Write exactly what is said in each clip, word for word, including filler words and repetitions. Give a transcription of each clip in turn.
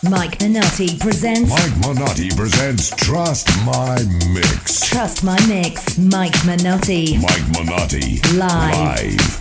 Mike Minotti presents. Mike Minotti presents Trust My Mix. Trust My Mix. Mike Minotti. Mike Minotti. Live. Live.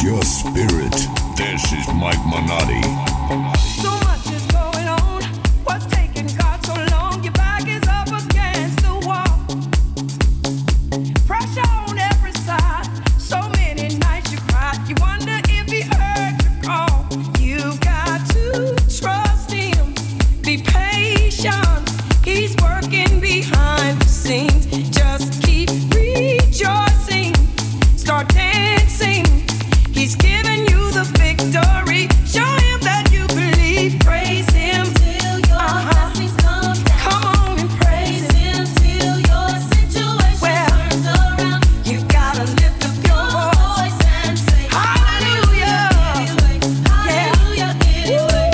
your spirit. This is Mike Minotti. So much is going on. What's taking God so long? Your back is up against the wall. Pressure on every side. So many nights you cried. You wonder if he heard your call. You've got to trust him. Be patient. He's working behind the scenes. Just keep rejoicing. Start dancing. He's giving you the victory. Show him that you believe. Praise him till your uh-huh. blessings come down. Come on and praise, praise him till your situation well, turns around. You gotta lift up your voice and say hallelujah. Hallelujah. Yeah.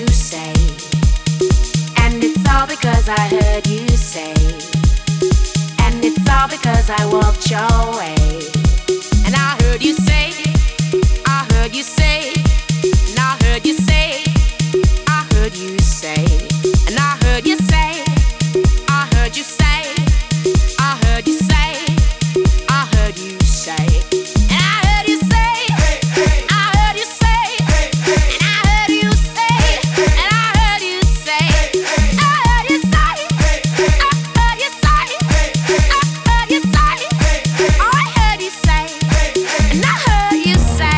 because I heard you say because I walked your way. And I heard you say, I heard you say, and I heard you say, I heard you say, and I heard you say, I heard you say, I heard you say, I heard you say, and I heard you say, I heard you say, and I heard you say, and I heard you say, I heard you say, I heard you say, I heard you say, I heard you say, and I heard you say.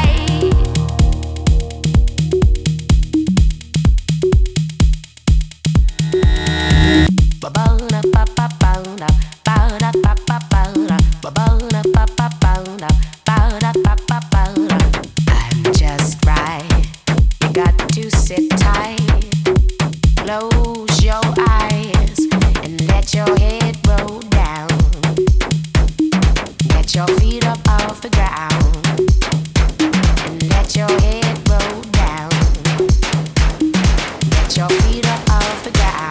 I'm just right. You got to sit tight. Close your eyes and let your head roll down. Get your feet up off the ground and let your head roll down. Get your feet up off the ground.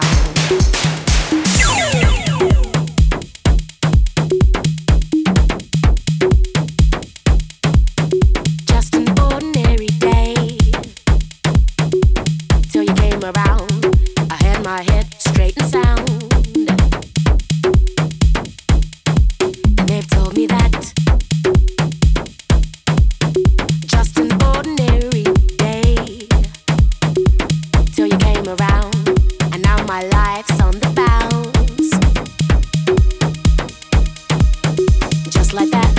Just an ordinary day till you came around. I had my head straight and sound, and they've told me that just an ordinary day till you came around, and now my life's on the bounce, just like that.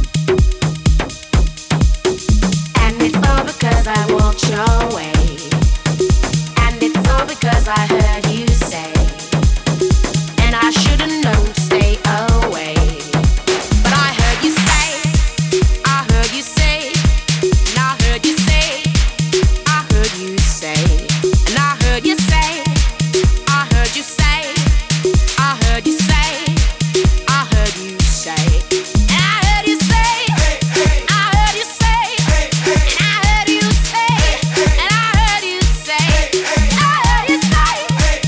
And it's all because I walked your way. And it's all because I heard you say, and I should've known to stay away. But I heard you say, I heard you say, and I heard you say, I heard you say, and I heard you say, I heard you say, I heard you say, I heard you say, and I heard you say, I heard you say, and I heard you say, and I heard you say, I heard you say,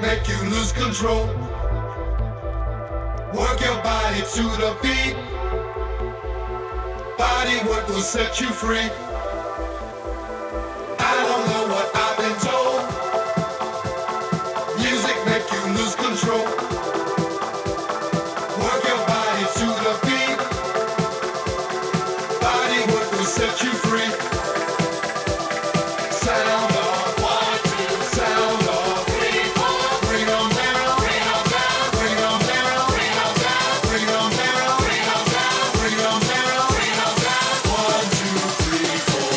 make you lose control. Work your body to the beat. Body work will set you free. I don't know what I've been told. Music make you lose control. Work your body to the beat. Body work will set you free. Sound off, one, two, sound off, three, four. Bring on down, bring on down, bring on down, bring on down, bring on down, bring on down, bring on down, bring on down. One, two, three, four.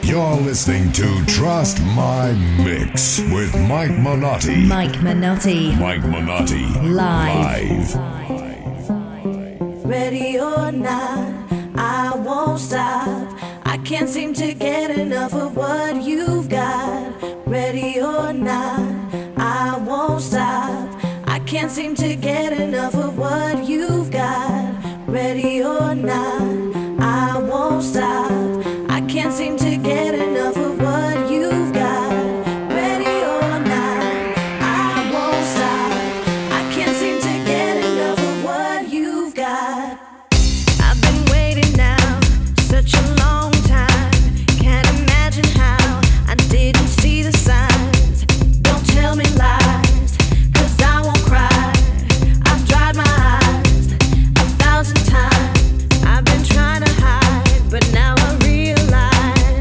You're listening to Trust My Mix with Mike Minotti. Mike Minotti. Mike Minotti. Live. Live. Ready or not, I won't stop. I can't seem to get enough of what you've got. Ready or not, I won't stop. I can't seem to get enough of what you've got. Ready or not, I won't stop. I can't seem to get enough of what you've got. Ready or not, I won't stop. I can't seem to get enough of what you've got. I've been waiting now such a long time. Can't imagine how I didn't see the signs. Don't tell me lies, 'cause I won't cry. I've dried my eyes a thousand times. I've been trying to hide, but now I realize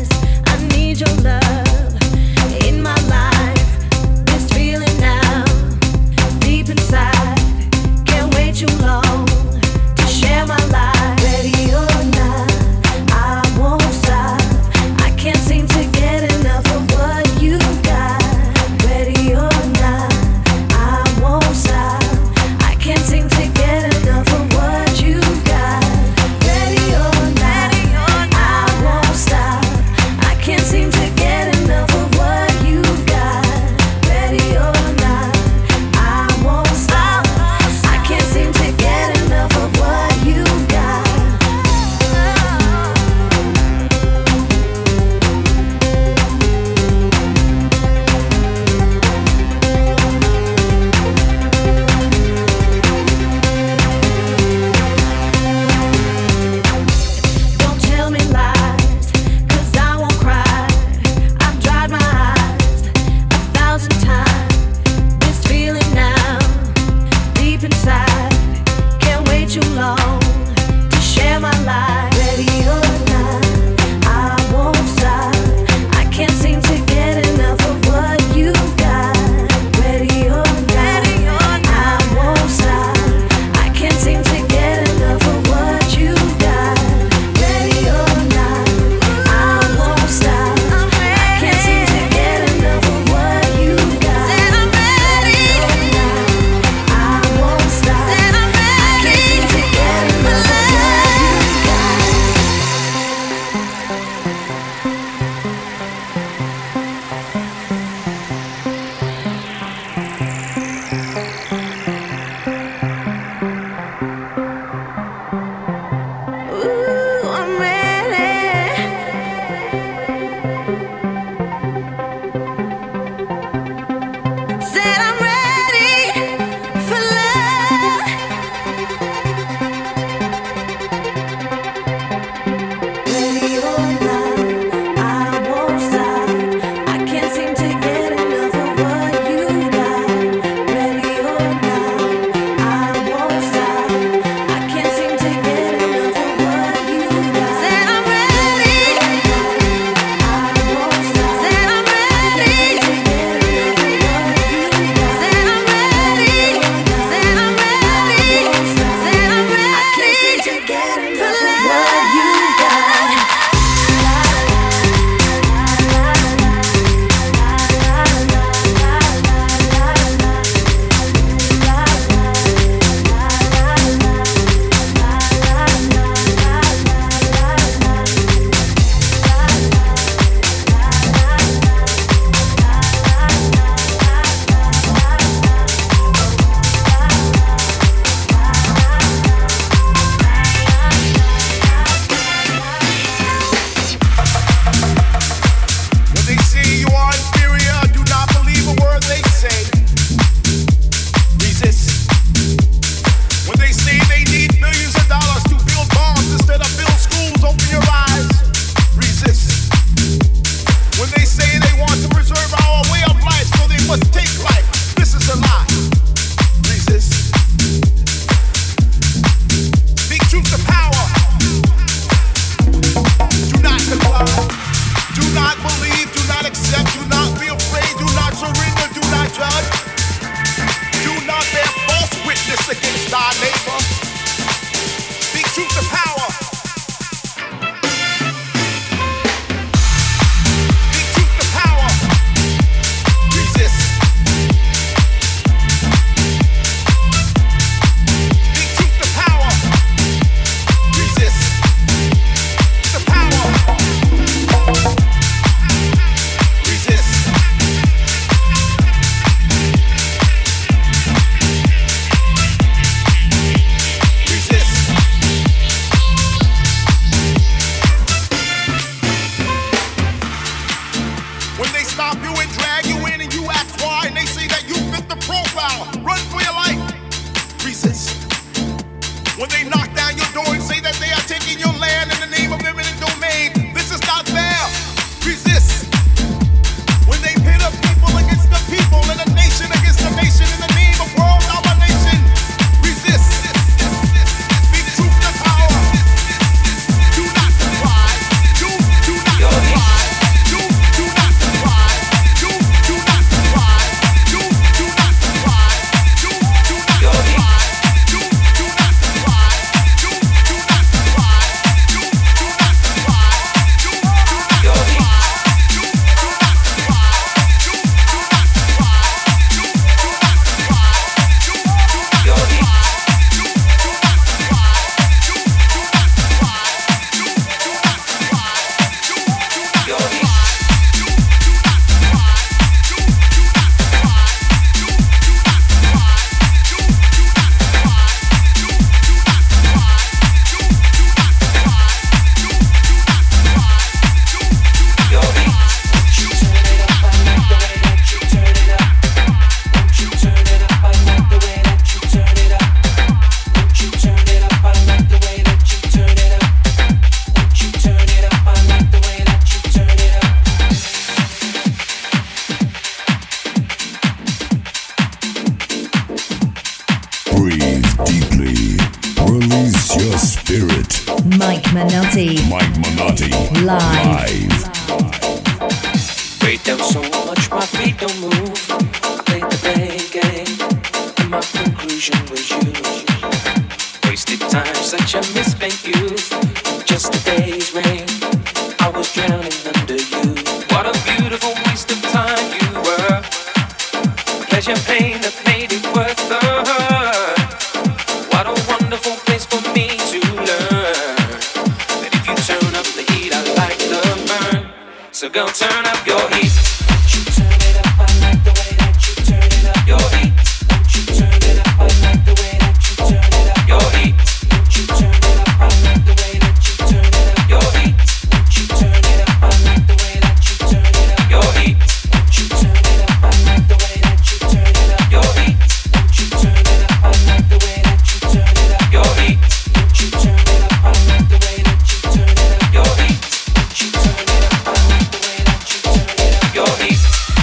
Mike Minotti. Live. Weight down so much my feet don't move. I played the blame game, and my conclusion was you. Wasted time, such a misspent youth. Just a day's rain, I was drowning under you. What a beautiful waste of time you were. Pleasure, pain that made it worth the hurt. What a wonderful place for me to learn that if you turn up the heat, I like the burn. So go turn up your heat. Won't you turn it up? I like the way that you turn it up. Your heat. Won't you turn it up? I like the way that you turn it up. Your heat. Won't you turn it up? I like the way that you turn it up. Your heat. Won't you turn it up? I like the way that you turn it up. Your heat. Won't you turn it up? I like the way that you turn it up. Your heat. Won't you turn it up? I like the way that you turn it up. Your heat. Won't you turn it up? I like the way that you turn it up. Your heat. Won't you turn it up? I like the way that you turn it up. Your heat.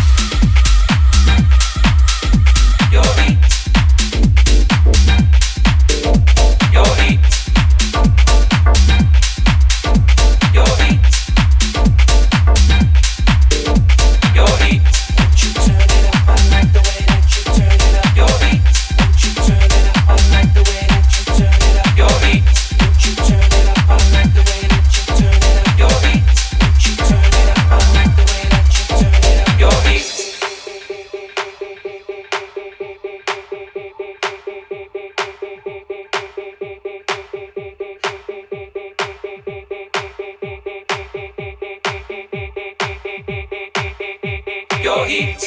Your heat. Your heat. Your heat. Your heat. Won't you turn it up? I like the way that you turn it up. Your heat. Won't you turn it up? I like the way that you turn it up. Your heat. Won't you turn it up? I like the way that you turn it up. Your heat. Won't you turn it up? I like the way that you turn it up. Your heat. Your heat.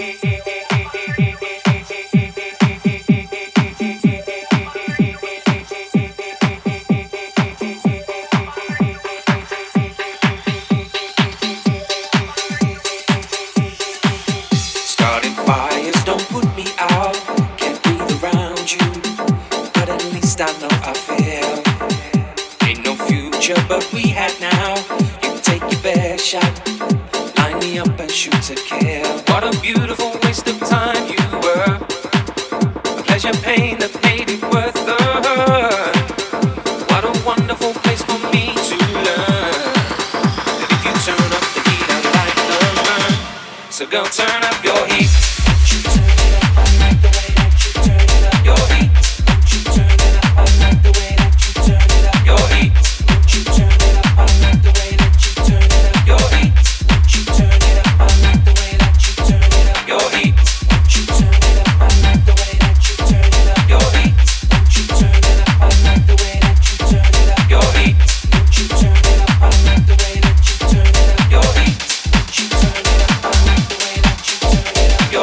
Starting fires don't put me out. Can't breathe around you, but at least I know I feel. Ain't no future, but we had now. You take your best shot. Line me up and shoot to kill. What a beautiful waste of time you were. A pleasure, pain that made it worth the hurt. What a wonderful place for me to learn that if you turn up the heat, I like the burn. So go turn up your heat. Won't you turn it up? I like the way that you turn it up. Your heat. Won't you turn it up? I like the way that you turn it up. Your heat. Won't you turn it up? I like the way that you turn it up. Your heat. Won't you turn it up? I like the way that you turn it up. Your heat. Won't you turn it up? I like the way that you turn it up. Your heat. Won't you turn it up? I like the way that you turn it up. Your heat. Won't you turn it up? I like the way that you turn it up. Your heat. Won't you turn it up? I like the way that you turn it up. Your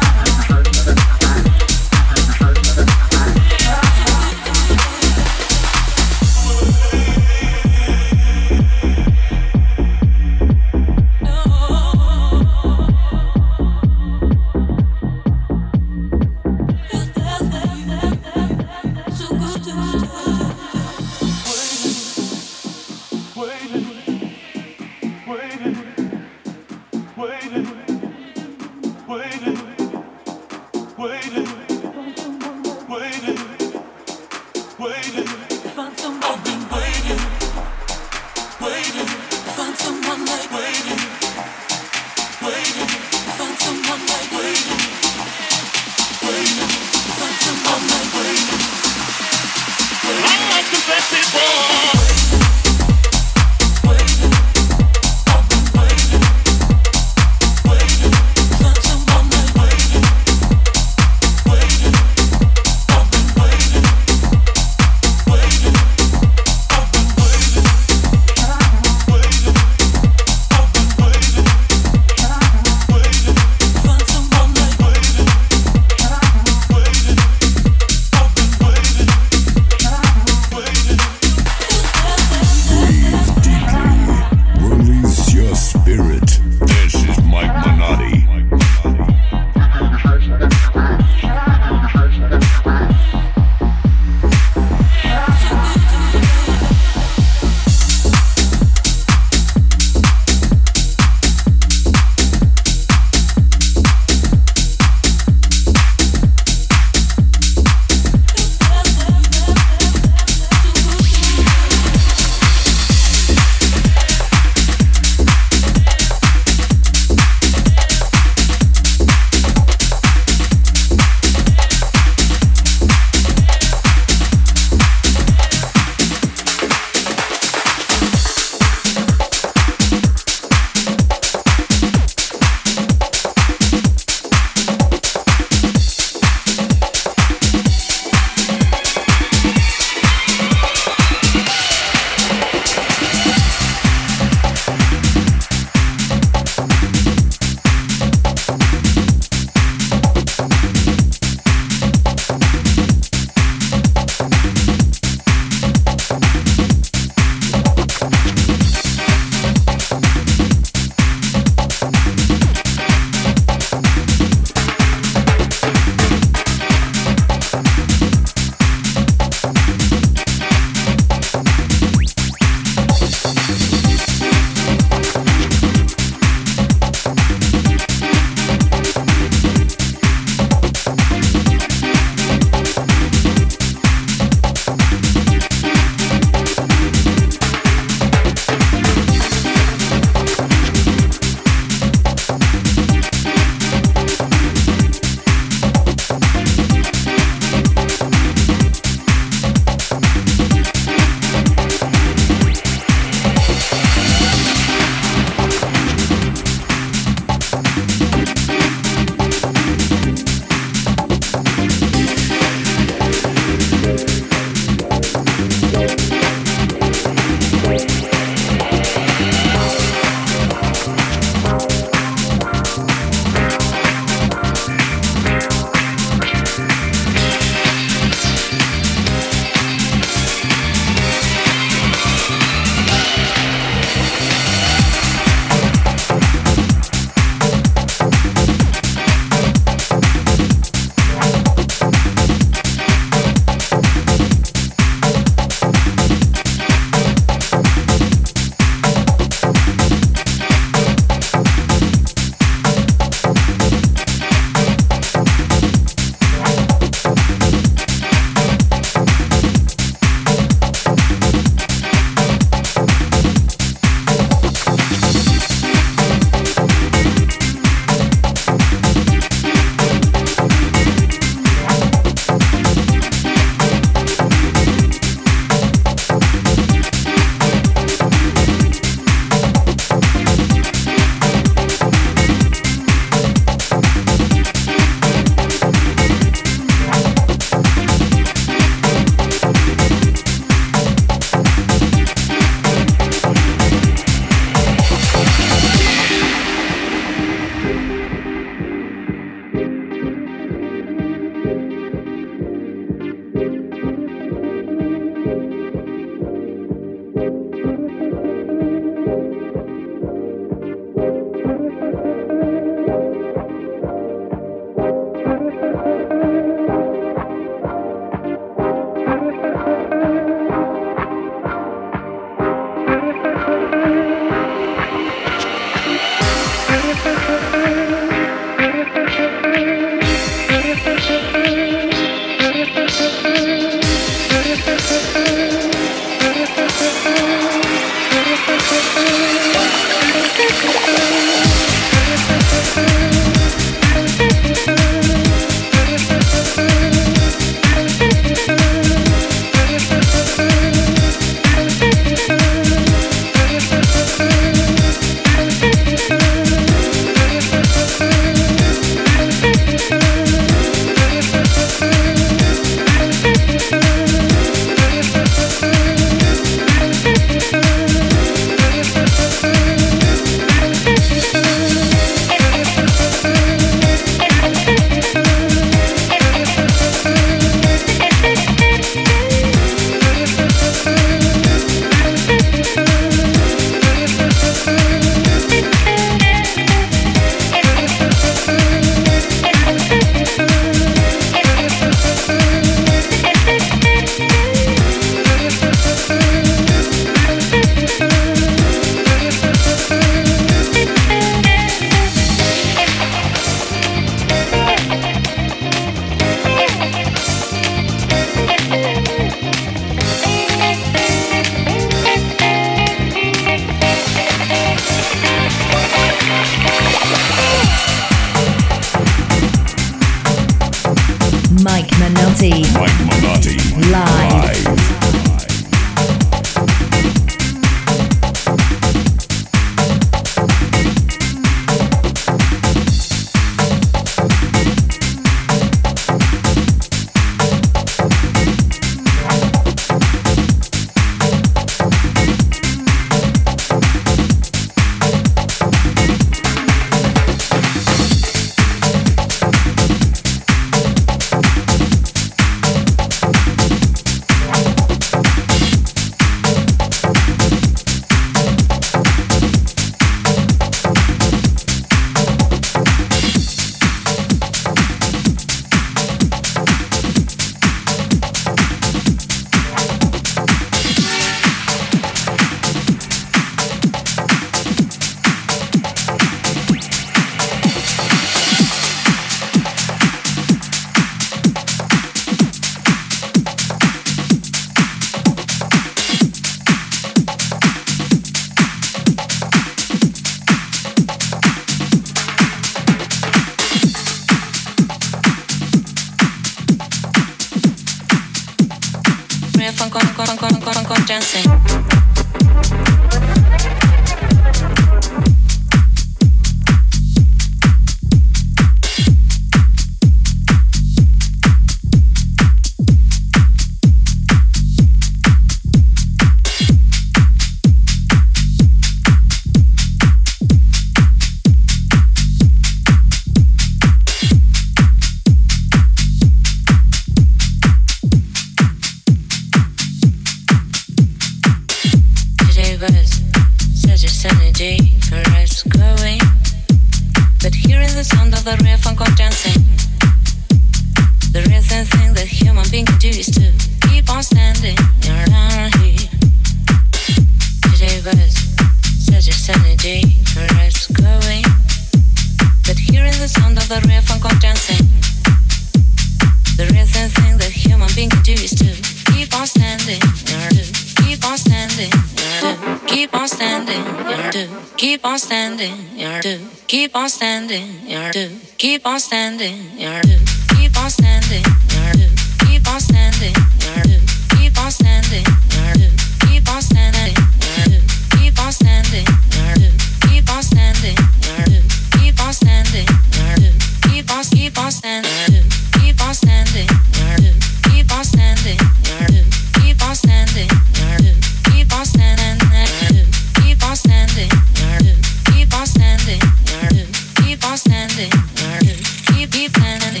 Keep on standing, you're do. Keep on standing, you're do. Keep on standing, you're do. Keep on standing, you're do. Keep on standing, you're do. Keep on standing, you're do. Keep on standing, you're do. Keep on standing, you're do. Keep on standing, you're do. Keep on keep on standing, you're do. Keep on standing, you're do. Keep on standing, you're do. Keep on standing, you're do. Keep on standing, you're do. Keep on standing, you're do. Keep on standing, you're do. Keep on standing, you're do. Keep keep standing.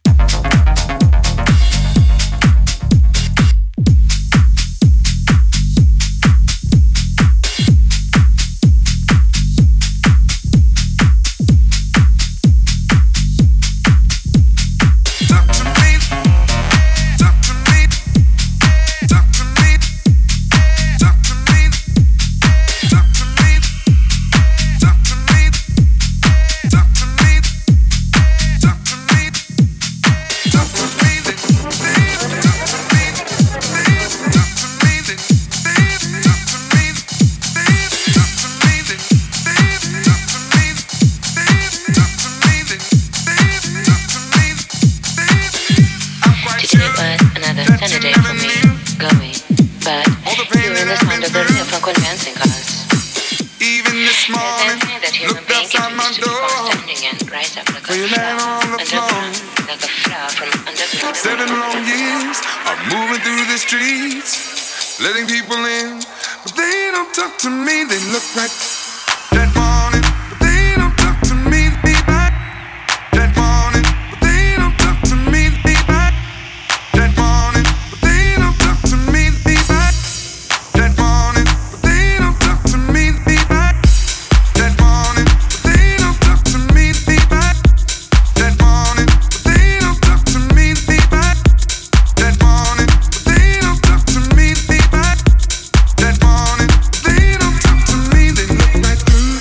Letting people in, but they don't talk to me. They look like that morning, but they don't talk to me. They back that morning, but they don't talk to me. They back that morning, but they don't talk to me. They back that morning, but they don't talk to me. They back that morning, but they don't talk to me. They back that morning, but they don't talk to me. They back that morning, but they don't talk to me. That morning, they don't talk to me. They look right through.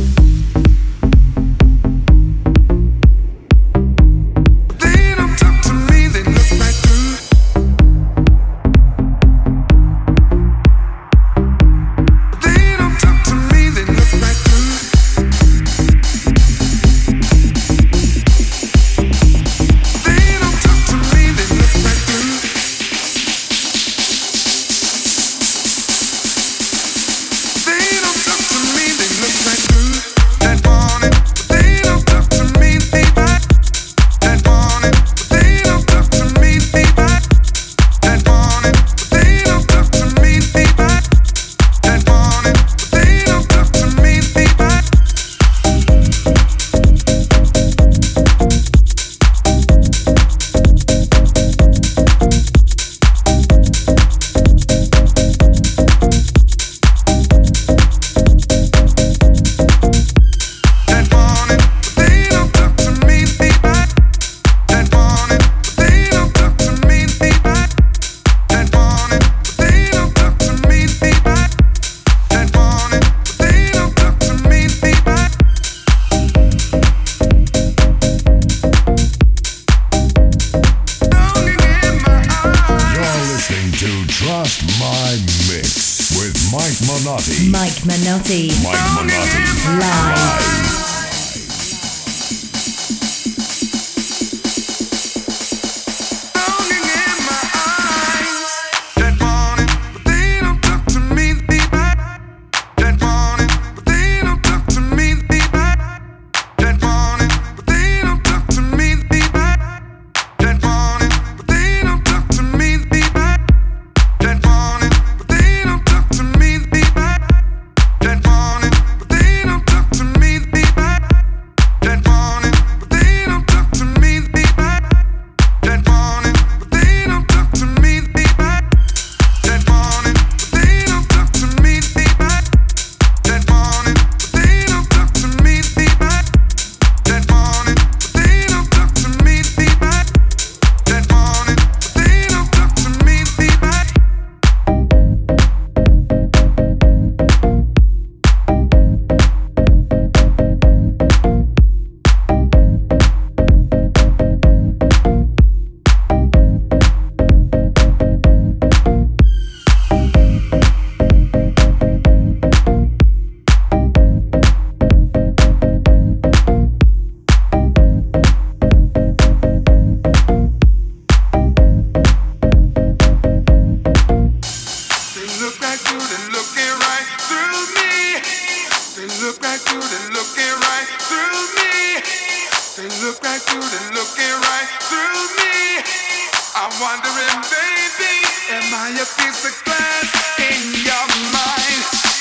They don't talk to me. They look right through. They don't talk to me. They look right through. They don't talk to me. They look right through. They don't talk to me, they look right through that morning, but they don't talk to me, they back that morning, but they don't talk to me, they back that morning, but they don't talk to me, they back that morning, but they don't talk to me, they back. That morning, but they don't talk to me, they back that morning, but they don't talk to me, they back that morning, but they don't talk to me, they back that morning, but they don't talk to me, they back. Longing in my eyes. You're listening to Trust My Mix with Mike Manotti. Mike Manotti. Mike Manotti. Live. Longing in my eyes. That morning, look right through, they're looking right through me. I'm wondering, baby, am I a piece of glass in your mind?